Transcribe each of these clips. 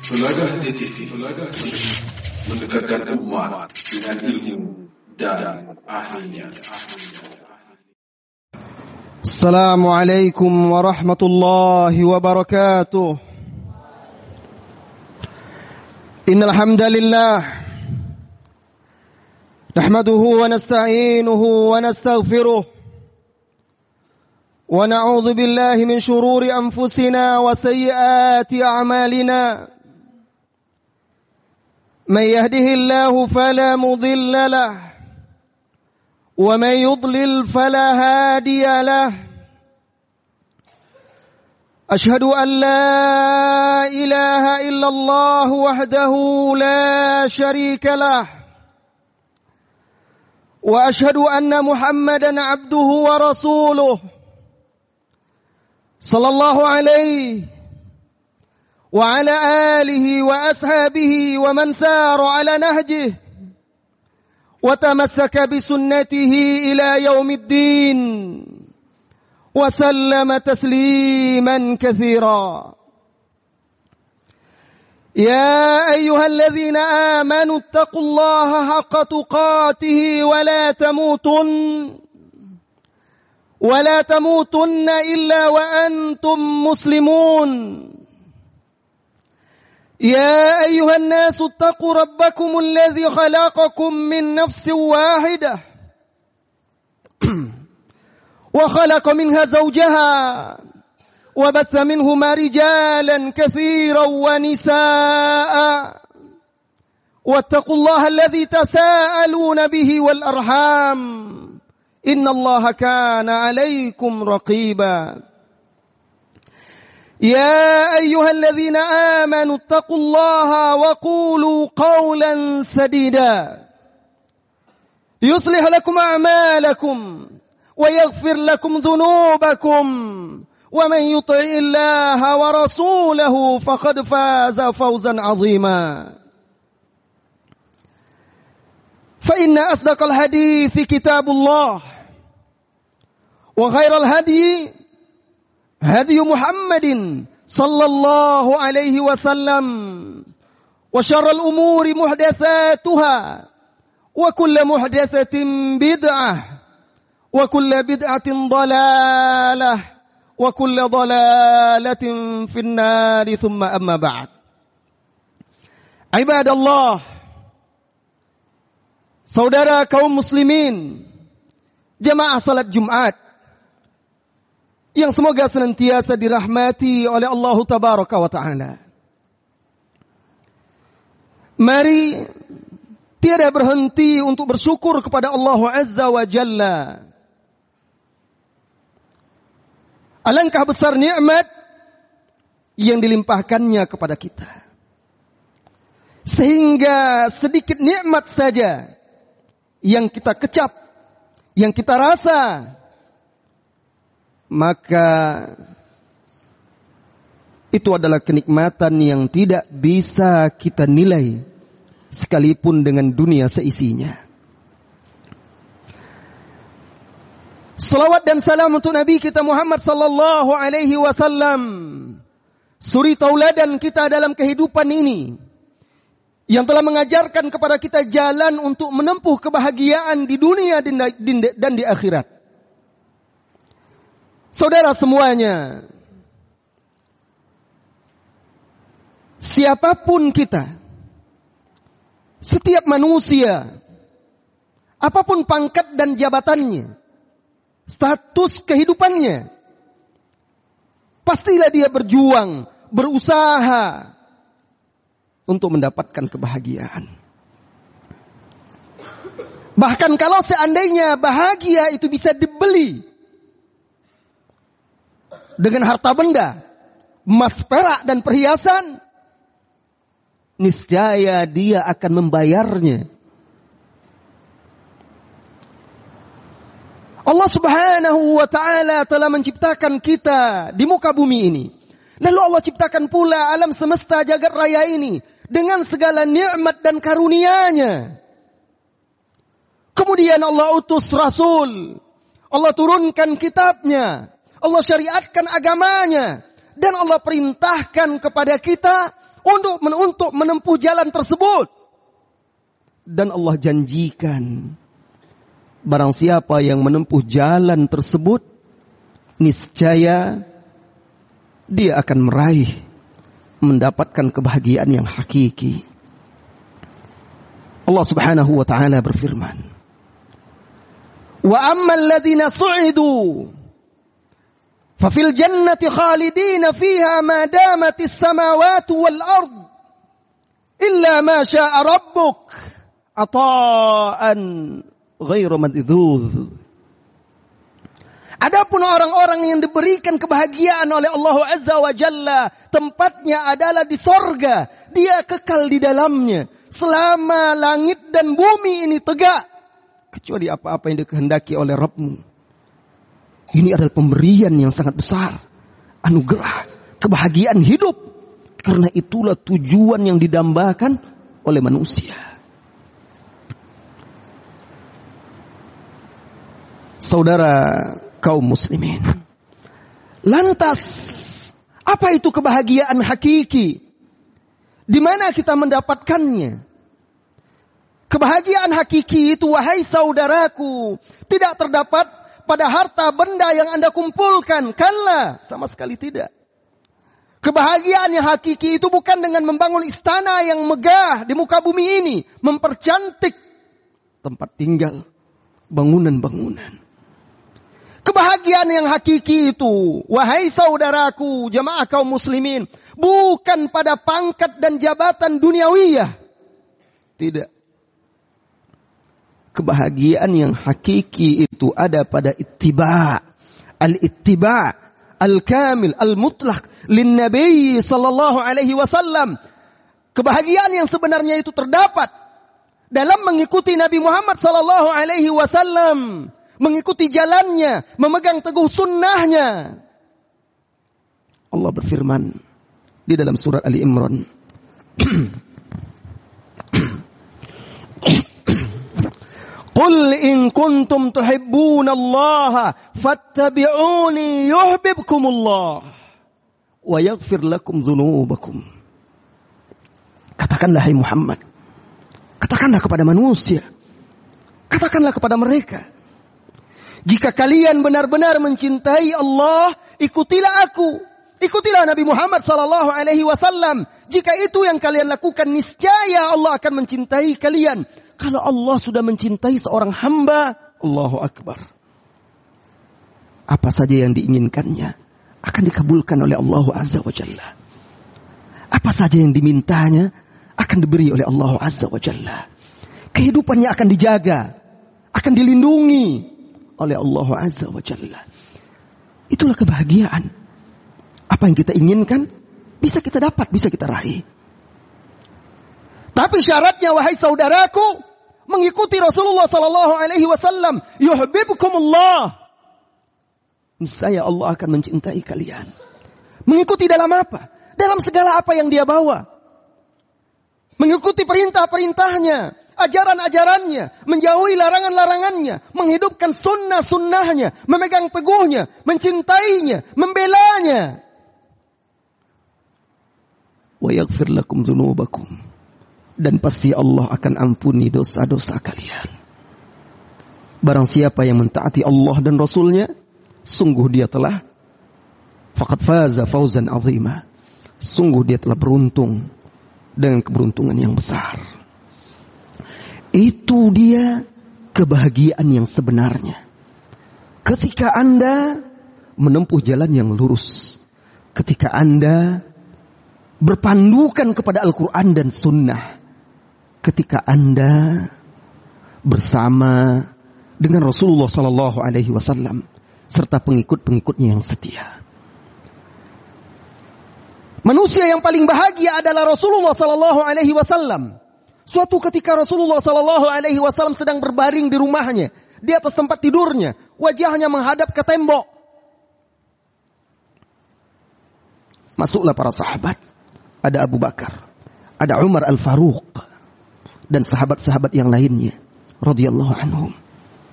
Telaga TV mendekatkan umat dengan ilmu dan ahlinya. Assalamualaikum warahmatullahi wabarakatuh. Innal hamdalillah nahmaduhu wa nasta'inuhu wa nastaghfiruh wa na'udzu billahi min shururi anfusina wa sayyiati a'malina. Man yahdihillahu fala mudilla lahu wa man yudlil fala hadiya lahu. Ashhadu an la ilaha illallah wahdahu la sharika lah wa ashhadu anna Muhammadan abduhu wa rasuluh sallallahu alaihi wa ala alihi wa ashabihi wa man sara ala nahjihi wa tamassaka bi sunnatihi ila yaumiddin wa sallama tasliman katsira. Ya ayyuhalladzina amanu taqullaha haqqa tuqatih wa la tamutunna illa wa antum muslimun. يا أيها الناس اتقوا ربكم الذي خلقكم من نفس واحدة وخلق منها زوجها وبث منهما رجالا كثيرا ونساء واتقوا الله الذي تساءلون به والأرحام إن الله كان عليكم رقيبا. يا أيها الذين آمنوا اتقوا الله وقولوا قولا سديدا يصلح لكم أعمالكم ويغفر لكم ذنوبكم ومن يطع الله ورسوله فقد فاز فوزا عظيما. فإن أصدق الحديث كتاب الله وخير الهدي هدي محمد صلى الله عليه وسلم وشر الأمور محدثاتها وكل محدثة بدعة وكل بدعة ضلالة وكل ضلالة في النار ثم أما بعد. عباد الله, saudara kaum muslimin, jamaah salat Jumat yang semoga senantiasa dirahmati oleh Allah Tabaraka wa Ta'ala. Mari tiada berhenti untuk bersyukur kepada Allah Azza wa Jalla. Alangkah besar nikmat yang dilimpahkannya kepada kita. Sehingga sedikit nikmat saja yang kita kecap, yang kita rasa, maka itu adalah kenikmatan yang tidak bisa kita nilai sekalipun dengan dunia seisinya. Salawat dan salam untuk Nabi kita Muhammad sallallahu alaihi wasallam, suri tauladan kita dalam kehidupan ini, yang telah mengajarkan kepada kita jalan untuk menempuh kebahagiaan di dunia dan di akhirat. Saudara semuanya, siapapun kita, setiap manusia, apapun pangkat dan jabatannya, status kehidupannya, pastilah dia berjuang, berusaha untuk mendapatkan kebahagiaan. Bahkan kalau seandainya bahagia itu bisa dibeli dengan harta benda, emas, perak, dan perhiasan, niscaya dia akan membayarnya. Allah Subhanahu wa Ta'ala telah menciptakan kita di muka bumi ini. Lalu Allah ciptakan pula alam semesta jagat raya ini dengan segala nikmat dan karunia-Nya. Kemudian Allah utus Rasul, Allah turunkan kitabnya, Allah syariatkan agamanya, Dan Allah perintahkan kepada kita untuk menempuh jalan tersebut. Dan Allah janjikan, barang siapa yang menempuh jalan tersebut, niscaya dia akan mendapatkan kebahagiaan yang hakiki. Allah Subhanahu wa taala berfirman, "Wa ammal ladzina su'idu fa fil jannati khalidina fiha ma damatis samawati wal ard illa ma syaa rabbuk ata'an ghairu madhdhuz." Adapun orang-orang yang diberikan kebahagiaan oleh Allah Azza wa Jalla, tempatnya adalah di sorga. Dia kekal di dalamnya selama langit dan bumi ini tegak, kecuali apa-apa yang dikehendaki oleh Rabbmu. Ini adalah pemberian yang sangat besar, anugerah, kebahagiaan hidup. Karena itulah tujuan yang didambakan oleh manusia. Saudara kaum muslimin, lantas apa itu kebahagiaan hakiki? Di mana kita mendapatkannya? Kebahagiaan hakiki itu, wahai saudaraku, tidak terdapat pada harta benda yang Anda kumpulkan. Kalla, sama sekali tidak. Kebahagiaan yang hakiki itu bukan dengan membangun istana yang megah di muka bumi ini, mempercantik tempat tinggal, bangunan-bangunan. Kebahagiaan yang hakiki itu, wahai saudaraku, jamaah kaum muslimin, bukan pada pangkat dan jabatan duniawiyah. Tidak. Kebahagiaan yang hakiki itu ada pada ittiba'. Al-ittiba' al-kamil, al-mutlaq lin Nabi sallallahu alaihi wasallam. Kebahagiaan yang sebenarnya itu terdapat dalam mengikuti Nabi Muhammad sallallahu alaihi wasallam. Mengikuti jalannya, memegang teguh sunnahnya. Allah berfirman di dalam surat Ali Imran, Qul in kuntum tuhibbunallaha fattabi'uni yuhibbukumullah wa yaghfir lakum dzunubakum. Katakanlah hai Muhammad, katakanlah kepada manusia, katakanlah kepada mereka, jika kalian benar-benar mencintai Allah, ikutilah aku. Ikutilah Nabi Muhammad sallallahu alaihi wasallam. Jika itu yang kalian lakukan, niscaya Allah akan mencintai kalian. Kalau Allah sudah mencintai seorang hamba, Allahu Akbar, apa saja yang diinginkannya akan dikabulkan oleh Allah Azza wa Jalla. Apa saja yang dimintanya akan diberi oleh Allah Azza wa Jalla. Kehidupannya akan dijaga, akan dilindungi oleh Allah Azza wa Jalla. Itulah kebahagiaan. Apa yang kita inginkan bisa kita dapat, bisa kita raih. Tapi syaratnya, wahai saudaraku, mengikuti Rasulullah sallallahu alaihi wasallam. Yuhibbukumullah. Niscaya Allah akan mencintai kalian. Mengikuti dalam apa? Dalam segala apa yang dia bawa. Mengikuti perintah-perintahnya, ajaran-ajarannya, menjauhi larangan-larangannya, menghidupkan sunnah-sunnahnya, memegang teguhnya, mencintainya, membelanya. Wa yaghfir lakum dzunubakum. Dan pasti Allah akan ampuni dosa-dosa kalian. Barang siapa yang mentaati Allah dan Rasulnya, sungguh dia telah faqad faza fawzan azima. Sungguh dia telah beruntung dengan keberuntungan yang besar. Itu dia kebahagiaan yang sebenarnya. Ketika Anda menempuh jalan yang lurus, ketika Anda berpandukan kepada Al-Quran dan Sunnah, ketika Anda bersama dengan Rasulullah Sallallahu Alaihi Wasallam serta pengikut-pengikutnya yang setia. Manusia yang paling bahagia adalah Rasulullah Sallallahu Alaihi Wasallam. Suatu ketika Rasulullah Sallallahu Alaihi Wasallam sedang berbaring di rumahnya, di atas tempat tidurnya, wajahnya menghadap ke tembok. Masuklah para sahabat. Ada Abu Bakar, ada Umar Al-Faruq, dan sahabat-sahabat yang lainnya, radhiyallahu anhum.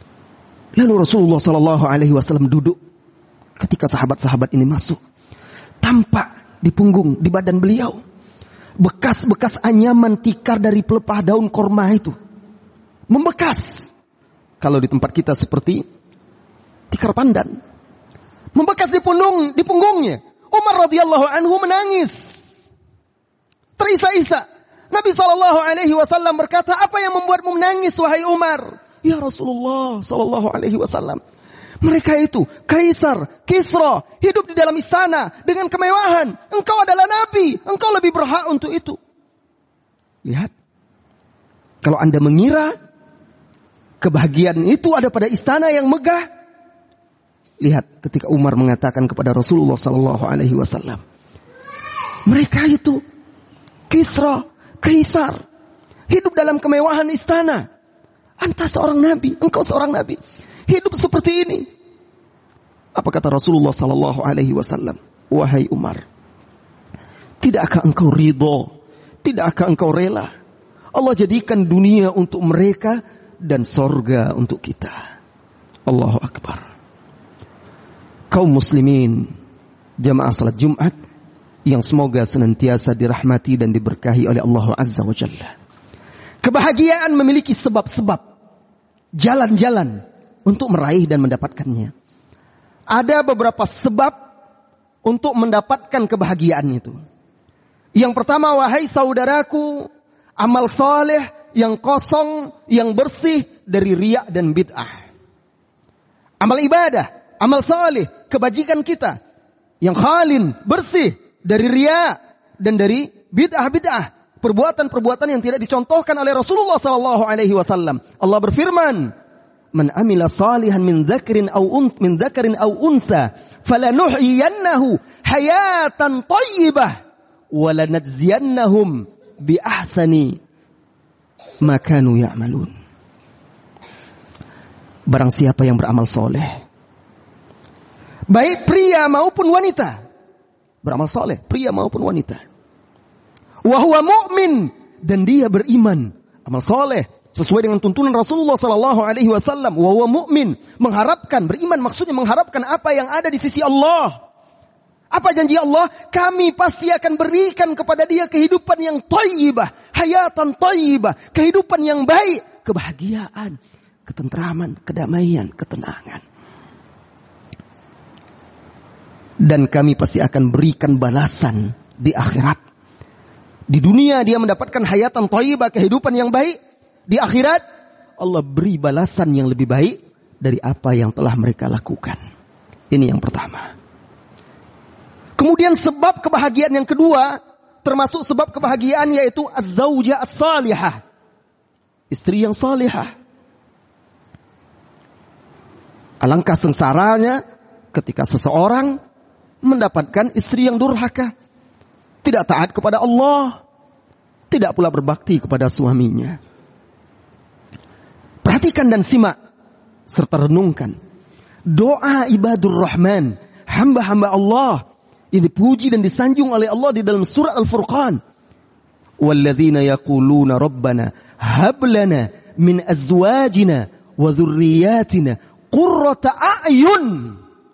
Lalu Rasulullah Sallallahu Alaihi Wasallam duduk ketika sahabat-sahabat ini masuk. tampak di punggung, di badan beliau. Bekas-bekas anyaman tikar dari pelepah daun korma itu membekas. Kalau di tempat kita seperti tikar pandan, membekas di punggungnya. Umar radhiyallahu anhu menangis, terisak-isak. Nabi SAW berkata, apa yang membuatmu menangis wahai Umar? Ya Rasulullah SAW, mereka itu Kaisar, Kisra, hidup di dalam istana dengan kemewahan. Engkau adalah Nabi, engkau lebih berhak untuk itu. Lihat, kalau Anda mengira kebahagiaan itu ada pada istana yang megah, lihat ketika Umar mengatakan kepada Rasulullah SAW, mereka itu Kisra, Kaisar, hidup dalam kemewahan istana. Anta seorang Nabi, engkau seorang Nabi, hidup seperti ini. Apa kata Rasulullah SAW? Wahai Umar, tidakkah engkau ridho? Tidakkah engkau rela Allah jadikan dunia untuk mereka dan sorga untuk kita? Allahu Akbar. Kaum muslimin, jamaah salat Jumat yang semoga senantiasa dirahmati dan diberkahi oleh Allah Azza wa Jalla. Kebahagiaan memiliki sebab-sebab, jalan-jalan untuk meraih dan mendapatkannya. Ada beberapa sebab untuk mendapatkan kebahagiaan itu. Yang pertama, wahai saudaraku, amal saleh yang kosong, yang bersih dari riya dan bid'ah. Amal ibadah, amal saleh, kebajikan kita yang khalin, bersih dari riya dan dari bid'ah-bid'ah. Perbuatan-perbuatan yang tidak dicontohkan oleh Rasulullah SAW. Allah berfirman, man amila salihan min dzakarin aw untha falanuhyiyannahu hayatan thayyibah wa lanajziyannahum bi ahsani ma kanu ya'malun. Barang siapa yang beramal soleh, baik pria maupun wanita, beramal soleh pria maupun wanita, wa huwa mu'min, dan dia beriman, amal soleh sesuai dengan tuntunan Rasulullah SAW. Wa huwa mu'min, mengharapkan, beriman maksudnya mengharapkan apa yang ada di sisi Allah. Apa janji Allah? Kami pasti akan berikan kepada dia kehidupan yang thayyibah, hayatan thayyibah, kehidupan yang baik, kebahagiaan, ketentraman, kedamaian, ketenangan. Dan kami pasti akan berikan balasan di akhirat. Di dunia dia mendapatkan hayatan thayyibah, kehidupan yang baik. Di akhirat Allah beri balasan yang lebih baik dari apa yang telah mereka lakukan. Ini yang pertama. Kemudian sebab kebahagiaan yang kedua, termasuk sebab kebahagiaan, yaitu az-zaujah as-salihah, istri yang salihah. Alangkah sengsaranya ketika seseorang mendapatkan istri yang durhaka, tidak taat kepada Allah, tidak pula berbakti kepada suaminya. Perhatikan dan simak serta renungkan doa ibadur rahman, hamba-hamba Allah yang dipuji dan disanjung oleh Allah di dalam surat Al-Furqan. Walladzina yaquluna rabbana hab lana min azwajina wa dhurriyyatina qurrata a'yun.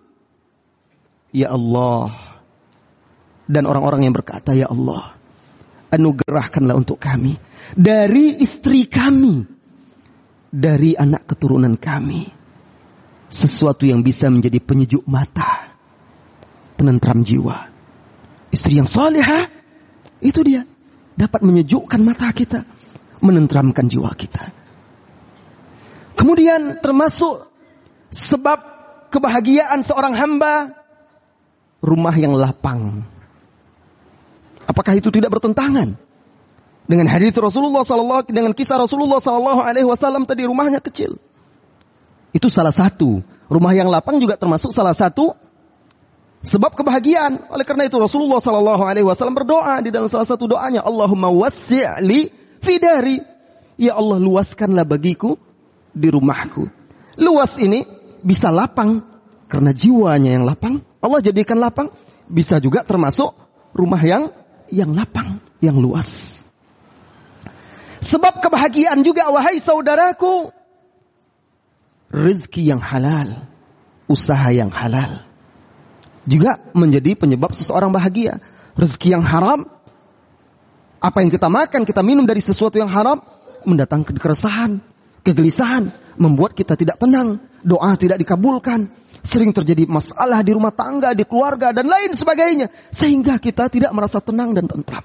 Ya Allah, dan orang-orang yang berkata, ya Allah, anugerahkanlah untuk kami dari istri kami, dari anak keturunan kami, sesuatu yang bisa menjadi penyejuk mata, penentram jiwa. Istri yang salihah, itu dia dapat menyejukkan mata kita, menentramkan jiwa kita. Kemudian termasuk sebab kebahagiaan seorang hamba, rumah yang lapang. Apakah itu tidak bertentangan dengan hadis Rasulullah SAW, dengan kisah Rasulullah SAW tadi, rumahnya kecil? Itu salah satu. Rumah yang lapang juga termasuk salah satu sebab kebahagiaan. Oleh karena itu Rasulullah SAW berdoa di dalam salah satu doanya, Allahumma wassi'li fi dari. Ya Allah, luaskanlah bagiku di rumahku. Luas ini bisa lapang karena jiwanya yang lapang, Allah jadikan lapang. Bisa juga termasuk rumah yang lapang, yang luas. Sebab kebahagiaan juga, wahai saudaraku, rezeki yang halal, usaha yang halal. juga menjadi penyebab seseorang bahagia. Rezeki yang haram, apa yang kita makan, kita minum dari sesuatu yang haram, mendatangkan keresahan, kegelisahan, membuat kita tidak tenang, doa tidak dikabulkan, sering terjadi masalah di rumah tangga, di keluarga, dan lain sebagainya, sehingga kita tidak merasa tenang dan tentram.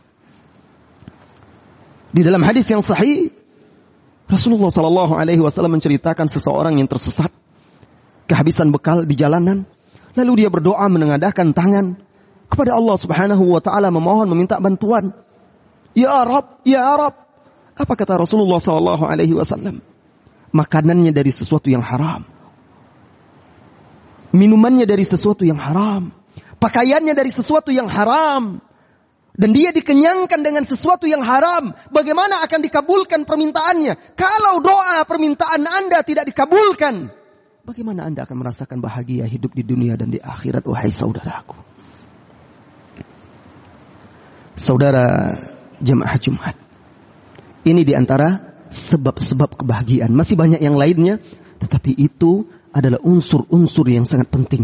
Di dalam hadis yang sahih, Rasulullah SAW menceritakan seseorang yang tersesat, kehabisan bekal di jalanan, lalu dia berdoa menengadahkan tangan kepada Allah Subhanahu wa taala, memohon, meminta bantuan. Ya Rabb, ya Rabb. Apa kata Rasulullah SAW? Makanannya dari sesuatu yang haram, minumannya dari sesuatu yang haram, pakaiannya dari sesuatu yang haram, dan dia dikenyangkan dengan sesuatu yang haram. Bagaimana akan dikabulkan permintaannya? Kalau doa permintaan Anda tidak dikabulkan, bagaimana Anda akan merasakan bahagia hidup di dunia dan di akhirat, wahai saudaraku? Saudara jemaah Jumat, ini diantara sebab-sebab kebahagiaan. Masih banyak yang lainnya, tetapi itu adalah unsur-unsur yang sangat penting.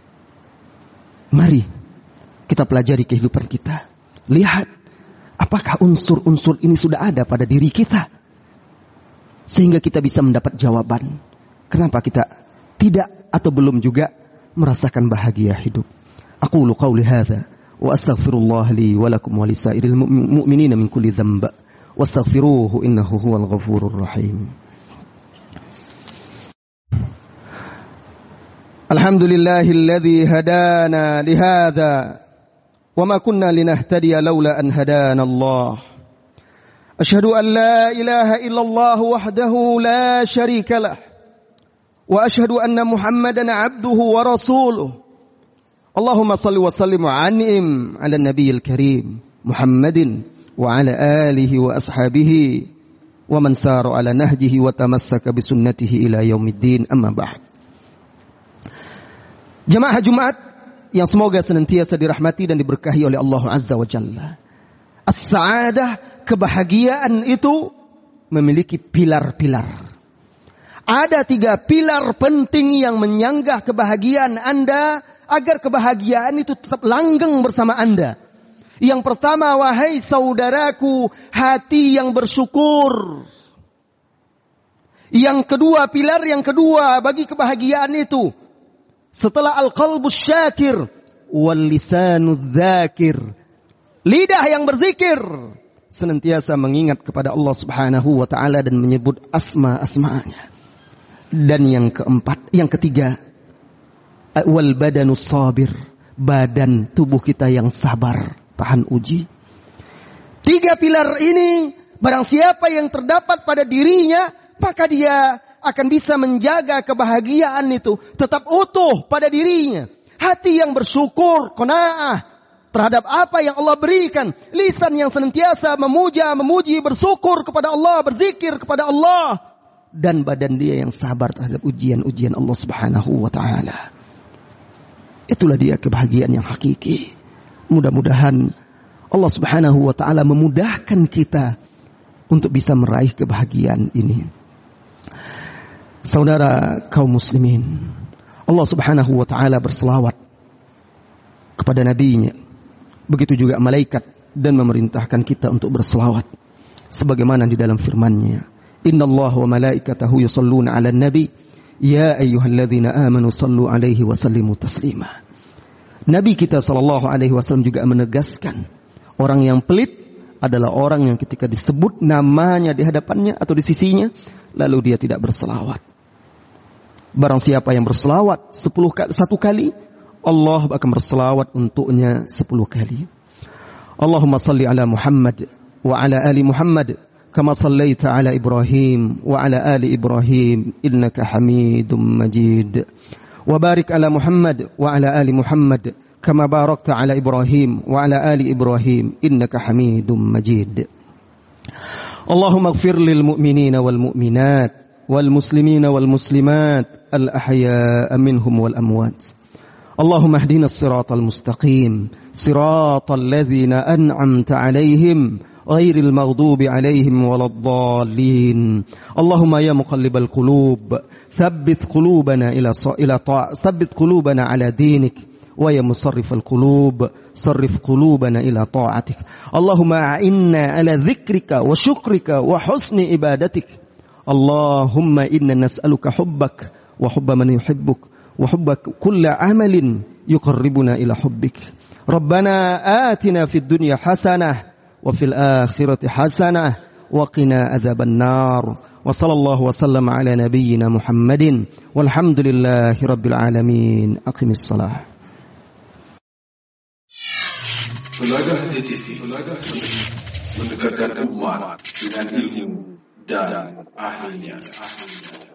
Mari kita pelajari kehidupan kita. Lihat, apakah unsur-unsur ini sudah ada pada diri kita, sehingga kita bisa mendapat jawaban kenapa kita tidak atau belum juga merasakan bahagia hidup. Aqulu qawli hadza wa astaghfirullah li wa lakum wa lisairil mu'minina min kulli dhanb wastaghfiruhu innahu huwal ghafurur rahim. Alhamdulillahilladzi hadana li hadza وما كنا لنهتدي لولا أن هدانا الله أشهد أن لا إله إلا الله وحده لا شريك له وأشهد أن محمدا عبده ورسوله اللهم صل وسلم وعنهم على النبي الكريم محمد وعلى آله وأصحابه ومن سار على نهجه وتمسك بسنته إلى يوم الدين أما بعد. Jemaah Jumat yang semoga senantiasa dirahmati dan diberkahi oleh Allah Azza wa Jalla. As-sa'adah, kebahagiaan itu memiliki pilar-pilar. Ada 3 pilar penting yang menyanggah kebahagiaan Anda, agar kebahagiaan itu tetap langgeng bersama Anda. Yang pertama, wahai saudaraku, hati yang bersyukur. Yang kedua, pilar yang kedua bagi kebahagiaan itu, setelah al-qalbus syakir wal lisanud dzakir, lidah yang berzikir, senantiasa mengingat kepada Allah Subhanahu wa taala dan menyebut asma-asma'nya. Dan yang keempat, yang ketiga, wal badanus sabir, badan tubuh kita yang sabar tahan uji. 3 pilar ini barang siapa yang terdapat pada dirinya, maka dia akan bisa menjaga kebahagiaan itu tetap utuh pada dirinya. Hati yang bersyukur, qanaah terhadap apa yang Allah berikan. Lisan yang senantiasa memuja, memuji, bersyukur kepada Allah, berzikir kepada Allah. Dan badan dia yang sabar terhadap ujian-ujian Allah Subhanahu wa ta'ala. Itulah dia kebahagiaan yang hakiki. Mudah-mudahan Allah Subhanahu wa ta'ala memudahkan kita untuk bisa meraih kebahagiaan ini. Saudara kaum muslimin, Allah Subhanahu wa ta'ala berselawat kepada nabinya, begitu juga malaikat, dan memerintahkan kita untuk berselawat sebagaimana di dalam firman-Nya, innallaha wa malaikatahu yusholluna 'alan nabi ya ayyuhalladzina amanu shallu 'alaihi wa sallimu taslima. Nabi kita sallallahu alaihi wasallam juga menegaskan, orang yang pelit adalah orang yang ketika disebut namanya di hadapannya atau di sisinya, lalu dia tidak berselawat. Barang siapa yang berselawat 1 kali, Allah akan berselawat untuknya 10 kali. Allahumma salli ala Muhammad wa ala ali Muhammad kama sallaita ala Ibrahim wa ala ali Ibrahim innaka Hamidum Majid. Wa barik ala Muhammad wa ala ali Muhammad kama barakta ala Ibrahim wa ala ali Ibrahim innaka Hamidum Majid. Allahumma ighfir lil mu'minina wal mu'minat والمسلمين والمسلمات الأحياء منهم والأموات. اللهم اهدنا الصراط المستقيم صراط الذين أنعمت عليهم غير المغضوب عليهم ولا الضالين. اللهم يا مقلب القلوب ثبت قلوبنا على دينك wa ya musarrifal qulub sarrif qulubana ila ta'atik. Allahumma a'inna ala dzikrika wa syukrika wa husni ibadatik. Allahumma inna nas'aluka hubbak wa hubba man yuhibbuk wa hubba kulli amalin yuqarribuna ila hubbik. Rabbana atina fid dunya hasanah wa fil akhirati hasanah wa qina adzaban nar. Wa sallallahu wa sallama ala nabiyyina Muhammadin walhamdulillahi rabbil alamin. Aqimis salah. Telaga TV mendekatkan umat dengan ilmu dan ahlinya.